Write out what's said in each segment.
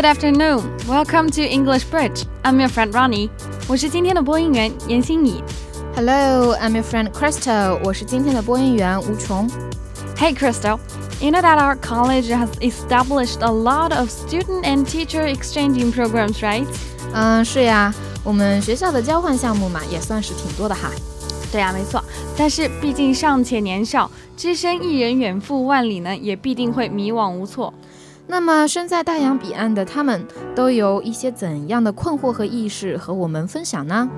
Good afternoon. Welcome to English Bridge. I'm your friend Ronnie. 我是今天的播音员严欣怡。 Hello, I'm your friend Crystal. 我是今天的播音员吴琼。 Hey Crystal, you know that our college has established a lot of student and teacher exchanging programs, right? 是呀，我们学校的交换项目嘛，也算是挺多的哈。 对啊，没错。但是毕竟尚且年少，只身一人远赴万里呢，也必定会迷惘无措。 那么身在大洋彼岸的他们，都有一些怎样的困惑和意识和我们分享呢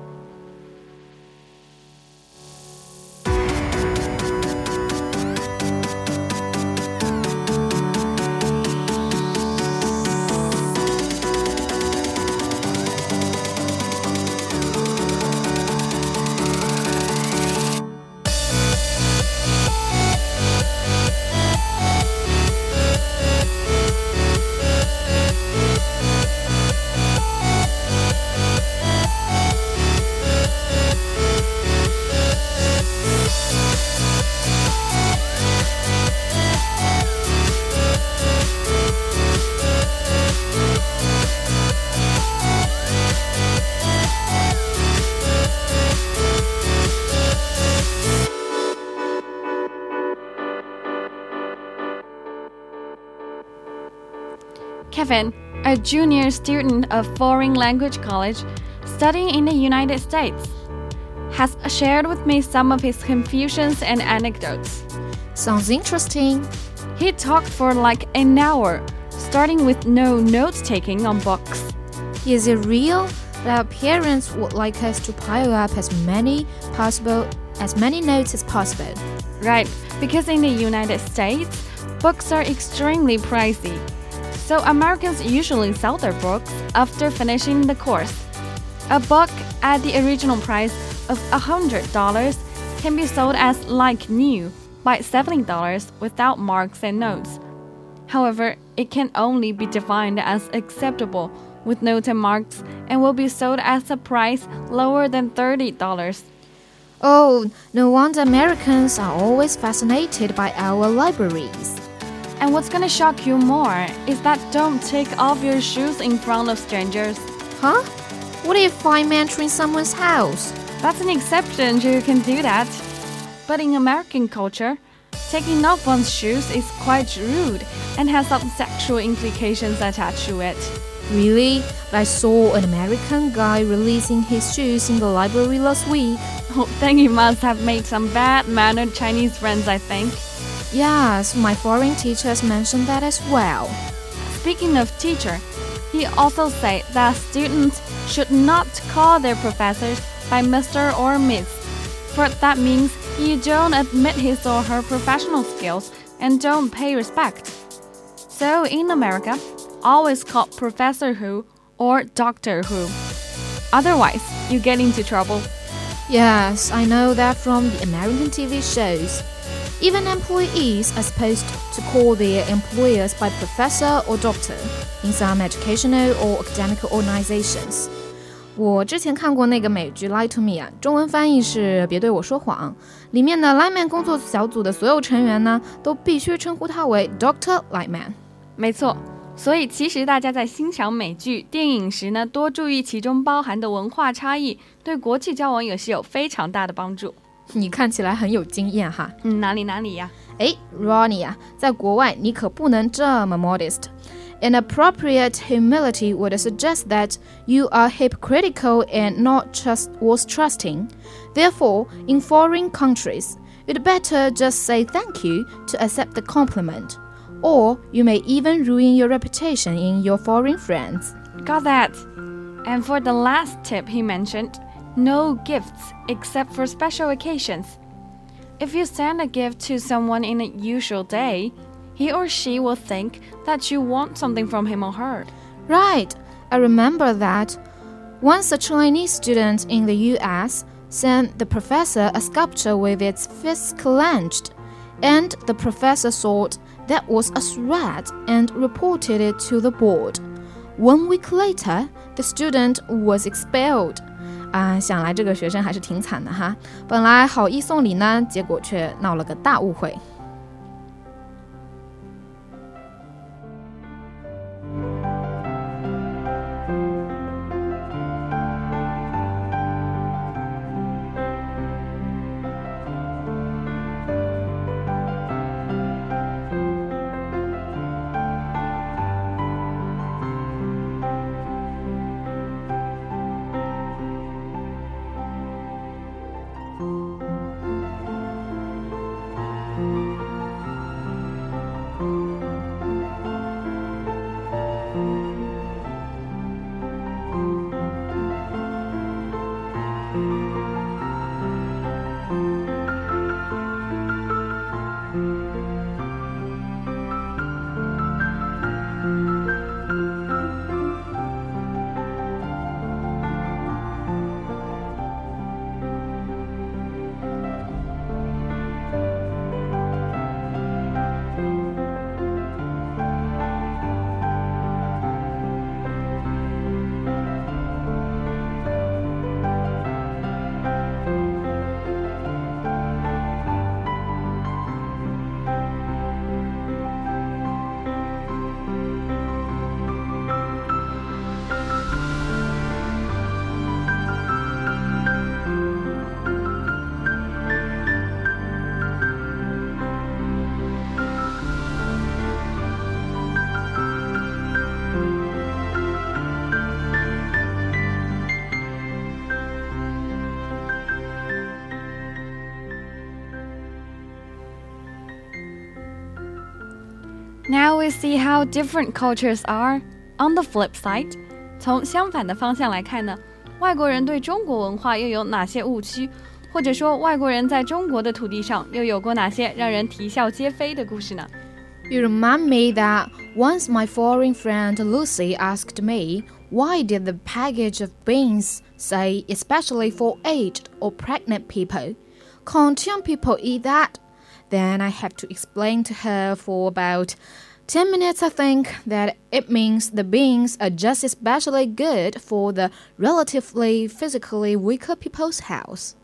Kevin, a junior student of foreign language college studying in the United States, has shared with me some of his confusions and anecdotes. Sounds interesting. He talked for like an hour, starting with no note-taking on books. Is it real that parents would like us to pile up as many notes as possible? Right, because in the United States, books are extremely pricey. So Americans usually sell their books after finishing the course. A book at the original price of $100 can be sold as like new by $70 without marks and notes. However, it can only be defined as acceptable with notes and marks and will be sold at a price lower than $30. Oh, no wonder Americans are always fascinated by our libraries. And what's gonna shock you more is that don't take off your shoes in front of strangers. Huh? What if I'm entering someone's house? That's an exception, you can do that. But in American culture, taking off one's shoes is quite rude and has some sexual implications attached to it. Really? I saw an American guy releasing his shoes in the library last week. Oh, then you must have made some bad-mannered Chinese friends, I think. Yes, my foreign teachers mentioned that as well. Speaking of teacher, he also said that students should not call their professors by Mr. or Miss, for that means you don't admit his or her professional skills and don't pay respect. So in America, always call Professor Who or Doctor Who. Otherwise, you get into trouble. Yes, I know that from the American TV shows. Even employees are supposed to call their employers by professor or doctor in some educational or academic organizations. 我之前看过那个美剧 Lie to Me 啊，中文翻译是别对我说谎。里面的 Lightman 工作小组的所有成员呢，都必须称呼他为 Dr. Lightman。 没错，所以其实大家在欣赏美剧、电影时呢，多注意其中包含的文化差异，对国际交往也是有非常大的帮助。 你看起来很有经验哈。 哪里呀 Ronnie 啊，在国外你可不能这么 modest. An appropriate humility would suggest that you are hypocritical and not trusting. Therefore, in foreign countries, you'd better just say thank you to accept the compliment. Or you may even ruin your reputation in your foreign friends. Got that. And for the last tip he mentioned,No gifts except for special occasions. If you send a gift to someone in a usual day, he or she will think that you want something from him or her. Right, I remember that. Once a Chinese student in the US sent the professor a sculpture with its fist clenched, and the professor thought that was a threat and reported it to the board. 1 week later, the student was expelled. 想来这个学生还是挺惨的哈，本来好意送礼呢，结果却闹了个大误会。 Now we see how different cultures are. On the flip side, 从相反的方向来看呢，外国人对中国文化又有哪些误区？或者说，外国人在中国的土地上又有过哪些让人啼笑皆非的故事呢？ You remind me that once my foreign friend Lucy asked me, why did the package of beans say especially for aged or pregnant people? Can't young people eat that? Then I have to explain to her for about 10 minutes, I think, that it means the beans are just especially good for the relatively physically weaker people's house.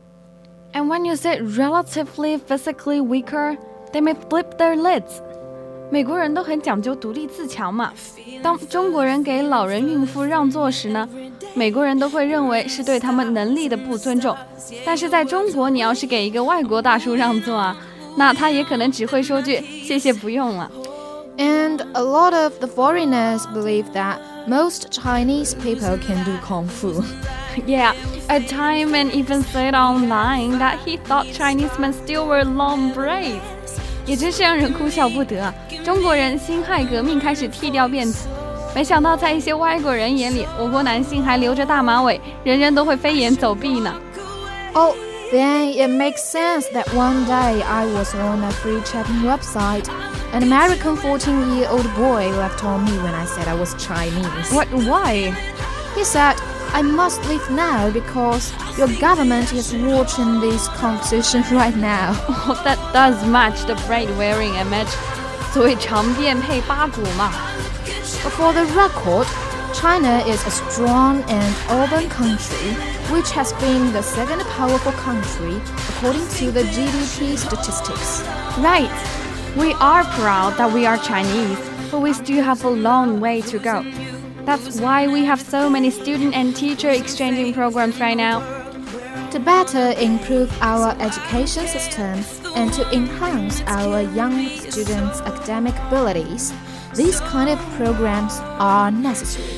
And when you say relatively physically weaker, they may flip their lids. 美国人都很讲究独立自强嘛。当中国人给老人孕妇让座时呢，美国人都会认为是对他们能力的不尊重。但是在中国，你要是给一个外国大叔让座啊，那他也可能只会说句谢谢不用了。 And a lot of the foreigners believe that most Chinese people can do kung fu. Yeah, a time man even said online that he thought Chinese men still wear long braids. 也真是让人哭笑不得啊！中国人辛亥革命开始剃掉辫子，没想到在一些外国人眼里，我国男性还留着大马尾，人人都会飞檐走壁呢。 Oh, then it makes sense that one day I was on a free chatting website. An American 14-year-old boy left on me when I said I was Chinese. What? Why? He said, I must leave now because your government is watching this conversation right now. Oh, that does match the braid-wearing image. 所谓长辫配八股嘛。 But for the record, China is a strong and urban country, which has been the second powerful country according to the GDP statistics. Right. We are proud that we are Chinese, but we still have a long way to go. That's why we have so many student and teacher exchanging programs right now. To better improve our education system and to enhance our young students' academic abilities, these kind of programs are necessary.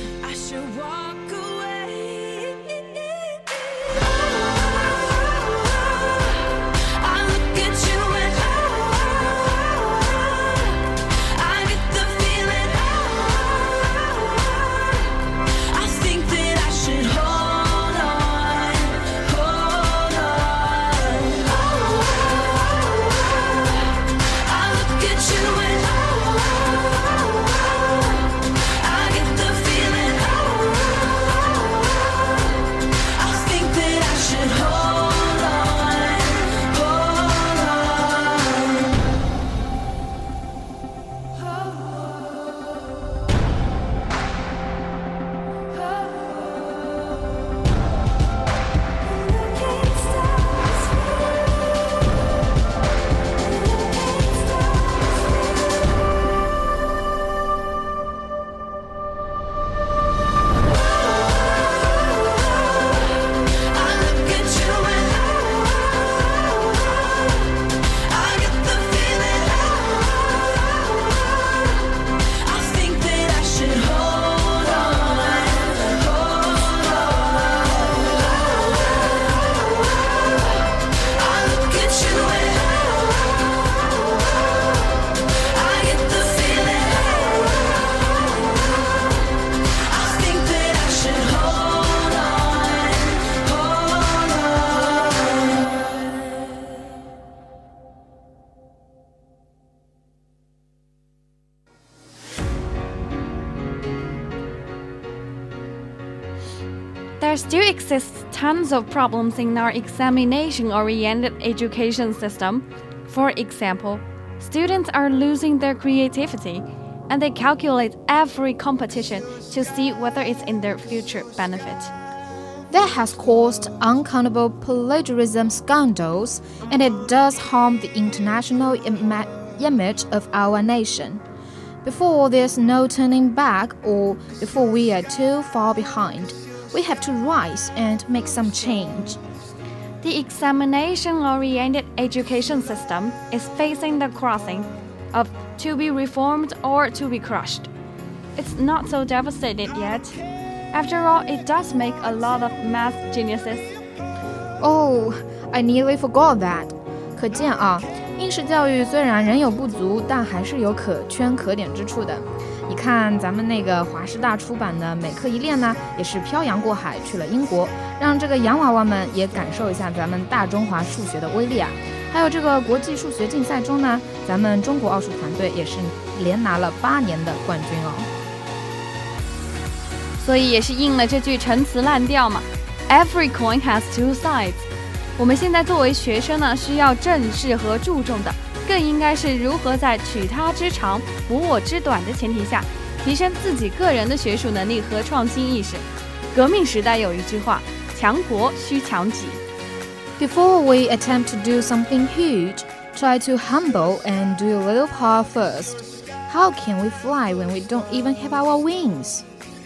There still exists tons of problems in our examination-oriented education system. For example, students are losing their creativity, and they calculate every competition to see whether it's in their future benefit. That has caused uncountable plagiarism scandals, and it does harm the international image of our nation. Before there's no turning back, or before we are too far behind, we have to rise and make some change. The examination-oriented education system is facing the crossing of to be reformed or to be crushed. It's not so devastated yet. After all, it does make a lot of math geniuses. Oh, I nearly forgot that. 可见啊， 应试教育虽然仍有不足，但还是有可圈可点之处的。你看咱们那个华师大出版的《美课一练》呢，也是漂洋过海去了英国，让这个洋娃娃们也感受一下咱们大中华数学的威力啊。还有这个国际数学竞赛中呢，咱们中国奥数团队也是连拿了8年的冠军哦。 所以也是应了这句陈词滥调嘛 ，Every coin has two sides。我们现在作为学生呢，需要正视和注重的，更应该是如何在取他之长、补我之短的前提下，提升自己个人的学术能力和创新意识。革命时代有一句话：强国需强己。 Before we attempt to do something huge, try to humble and do a little part first. How can we fly when we don't even have our wings?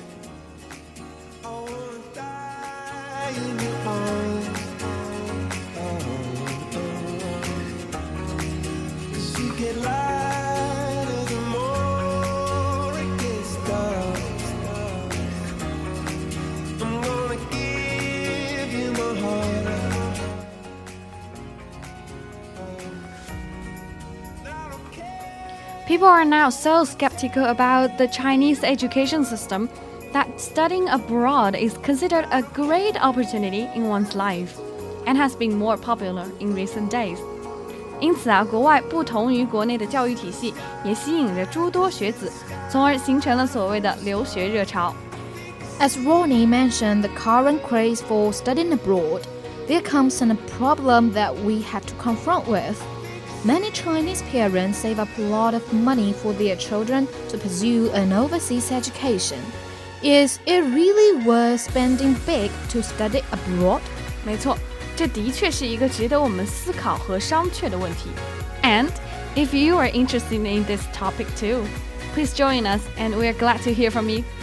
People are now so skeptical about the Chinese education system that studying abroad is considered a great opportunity in one's life and has been more popular in recent days. 因此啊，国外不同于国内的教育体系也吸引着诸多学子，从而形成了所谓的留学热潮。 As Ronnie mentioned the current craze for studying abroad, there comes a problem that we have to confront with.Many Chinese parents save up a lot of money for their children to pursue an overseas education. Is it really worth spending big to study abroad? 没错，这的确是一个值得我们思考和商榷的问题。And if you are interested in this topic too, please join us and we are glad to hear from you.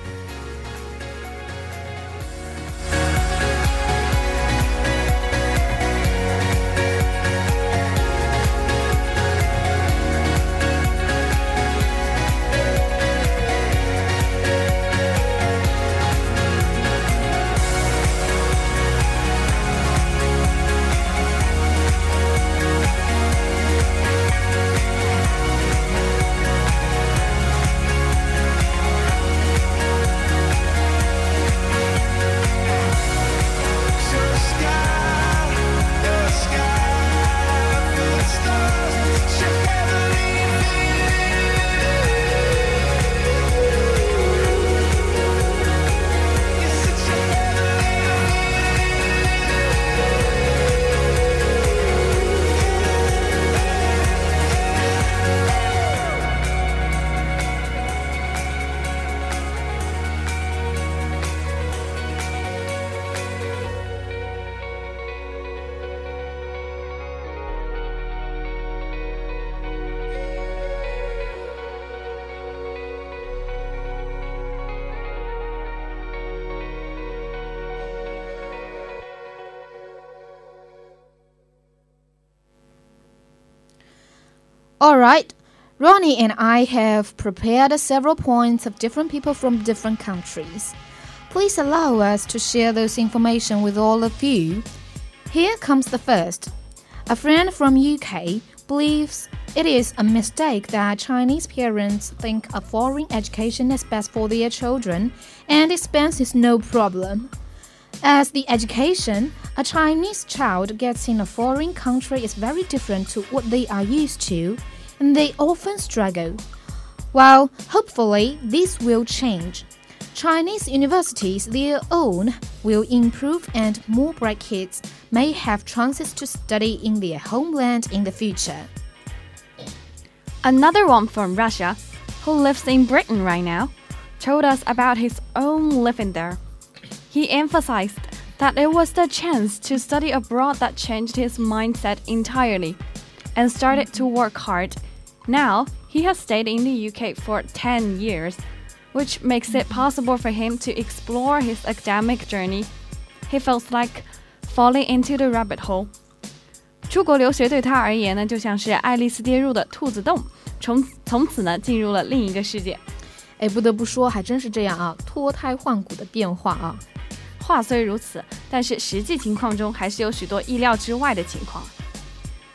Alright, Ronnie and I have prepared several points of different people from different countries. Please allow us to share those information with all of you. Here comes the first. A friend from UK believes it is a mistake that Chinese parents think a foreign education is best for their children and expense is no problem. As the education a Chinese child gets in a foreign country is very different to what they are used to, and they often struggle. While hopefully this will change. Chinese universities, their own, will improve and more bright kids may have chances to study in their homeland in the future. Another one from Russia, who lives in Britain right now, told us about his own living there. He emphasized that it was the chance to study abroad that changed his mindset entirely and started to work hard. Now, he has stayed in the UK for 10 years, which makes it possible for him to explore his academic journey. He feels like falling into the rabbit hole. 出国留学对他而言呢，就像是爱丽丝跌入的兔子洞，从此呢，进入了另一个世界。 不得不说，还真是这样啊，脱胎换骨的变化啊。 话虽如此，但是实际情况中还是有许多意料之外的情况。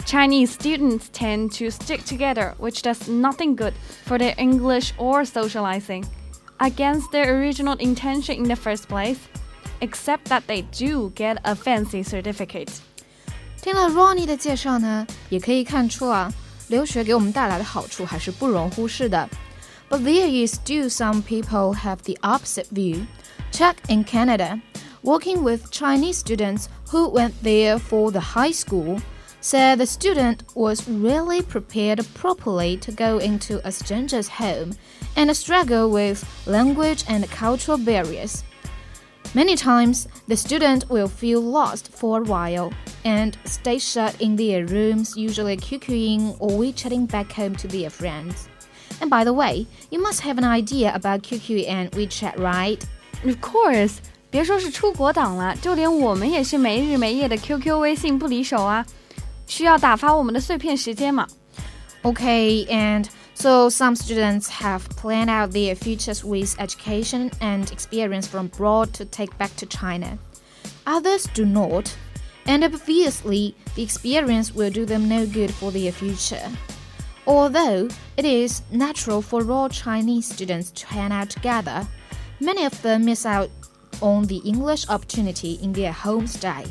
Chinese students tend to stick together, which does nothing good for their English or socializing, against their original intention in the first place, except that they do get a fancy certificate. 听了 Ronnie 的介绍呢，也可以看出啊，留学给我们带来的好处还是不容忽视的。But there is still some people have the opposite view. Check in Canada, working with Chinese students who went there for the high school, said the student was really prepared properly to go into a stranger's home and struggle with language and cultural barriers. Many times, the student will feel lost for a while and stay shut in their rooms, usually QQing or WeChatting back home to their friends. And by the way, you must have an idea about QQ and WeChat, right? Of course, 别说是出国党了，就连我们也是没日没夜的 QQ 微信不离手啊，需要打发我们的碎片时间嘛。 Okay, and so some students have planned out their futures with education and experience from abroad to take back to China. Others do not, and obviously the experience will do them no good for their future. Although it is natural for all Chinese students to hang out together, many of them miss out on the English opportunity in their home stay.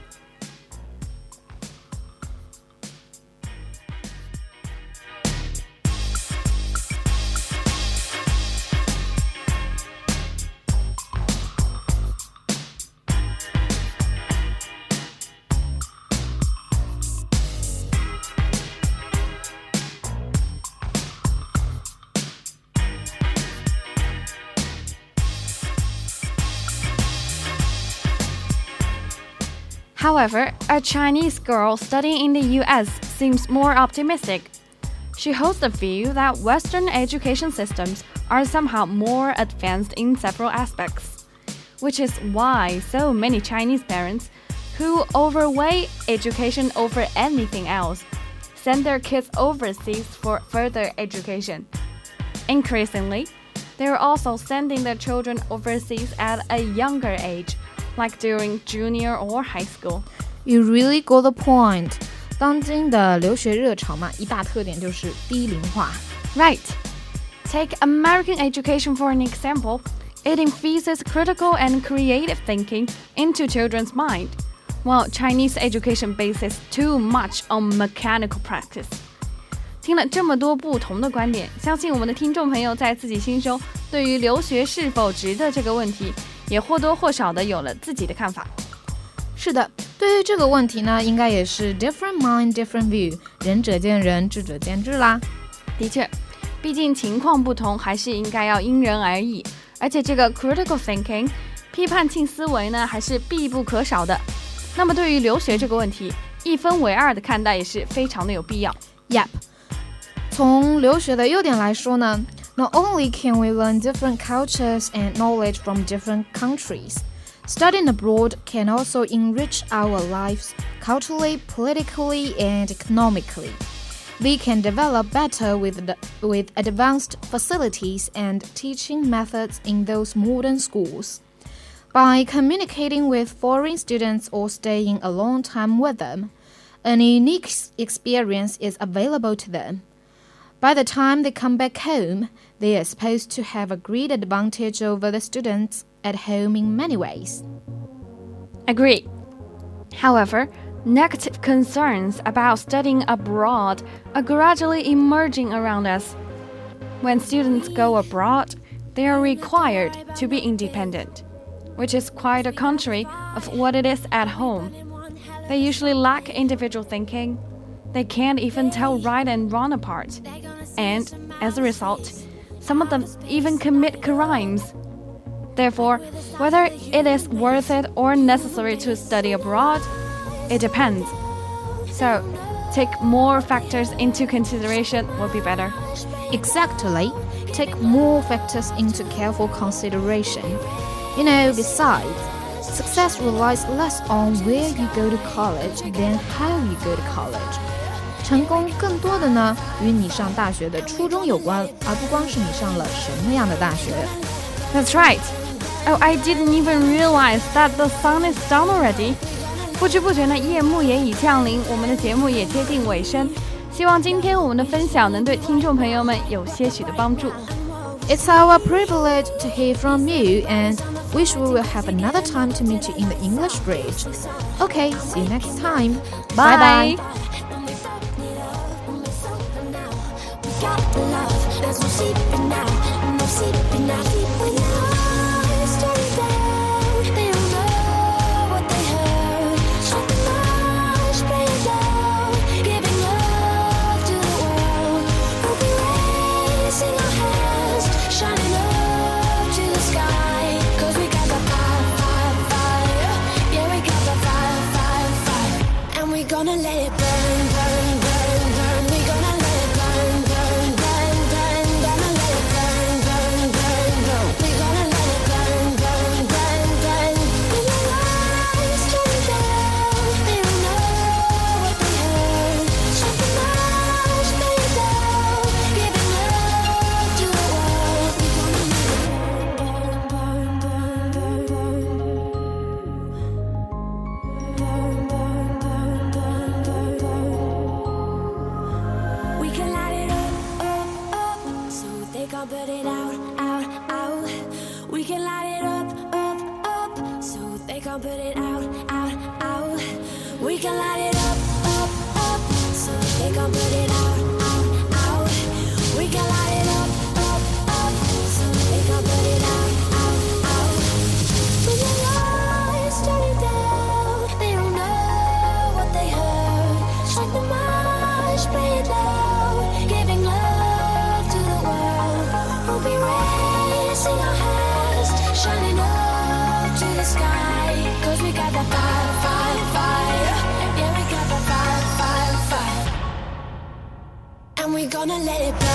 However, a Chinese girl studying in the US seems more optimistic. She holds the view that Western education systems are somehow more advanced in several aspects, which is why so many Chinese parents who overweigh education over anything else send their kids overseas for further education. Increasingly, they're also sending their children overseas at a younger age, like during junior or high school. You really got the point. 当今的留学热潮嘛，一大特点就是低龄化。 Right. Take American education for an example. It infuses critical and creative thinking into children's mind, while Chinese education bases too much on mechanical practice. 听了这么多不同的观点，相信我们的听众朋友在自己心中对于留学是否值得这个问题也或多或少的有了自己的看法。 是的，对于这个问题呢，应该也是 different mind, different view， 仁者见仁，智者见智啦。 的确，毕竟情况不同，还是应该要因人而异。而且这个 critical thinking， 批判性思维呢，还是必不可少的。那么对于留学这个问题，一分为二的看待也是非常的有必要。 Yep， 从留学的优点来说呢，Not only can we learn different cultures and knowledge from different countries, studying abroad can also enrich our lives culturally, politically, and economically. We can develop better with advanced facilities and teaching methods in those modern schools. By communicating with foreign students or staying a long time with them, a unique experience is available to them.By the time they come back home, they are supposed to have a great advantage over the students at home in many ways. Agree. However, negative concerns about studying abroad are gradually emerging around us. When students go abroad, they are required to be independent, which is quite a contrary of what it is at home. They usually lack individual thinking.They can't even tell right and wrong apart. And, as a result, some of them even commit crimes. Therefore, whether it is worth it or necessary to study abroad, it depends. So, take more factors into consideration would be better. Exactly. Take more factors into careful consideration. You know, besides, success relies less on where you go to college than how you go to college.成功更多的呢，与你上大学的初衷有关，而不光是你上了什么样的大学。 That's right. Oh, I didn't even realize that the sun is down already. 不知不觉呢，夜幕也已降临，我们的节目也接近尾声。希望今天我们的分享能对听众朋友们有些许的帮助。 It's our privilege to hear from you, and wish we will have another time to meet you in the English Bridge. Okay, see you next time. Bye bye. Gonna let it burn, burn, burn, burn. We gonna let it burn, burn, burn, burn. Gonna let it burn, burn, burn, burn. We gonna let it burn, burn, burn, burn. When your eyes turn down, they don't know what they heard. Shut the lights, lay it down, giving love to the world. We gonna let it burn, burn, burn, burn, burn. Put it out, out, out. We can light it up, up, up. So they can't put it out, out, out. We can light it up, up, up. So they can't put it out, out, out. We can light it up, up, up. So they can't put it out, out, out. When your lights turn down, they don't know what they heard. Strike the march, play it loud, giving love to the world. We'll be raising our hands, shining up to the sky. 'Cause we got that fire, fire, fire. Yeah, we got that fire, fire, fire. And we're gonna let it burn.